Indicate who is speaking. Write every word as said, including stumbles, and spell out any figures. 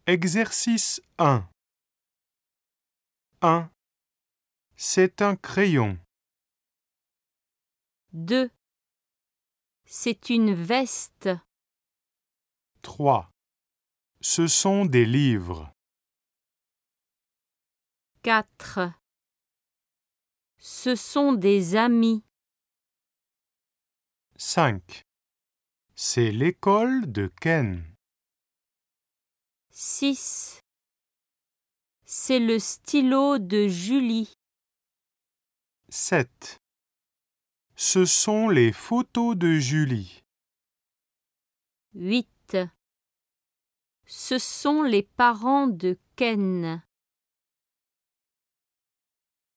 Speaker 1: Exercice un. un. C'est un crayon.
Speaker 2: deux. C'est une veste.
Speaker 1: trois. Ce sont des livres.
Speaker 2: quatre. Ce sont des amis.
Speaker 1: cinq. C'est l'école de Ken.
Speaker 2: six. C'est le stylo de Julie.
Speaker 1: sept. Ce sont les photos de Julie.
Speaker 2: huit. Ce sont les parents de Ken.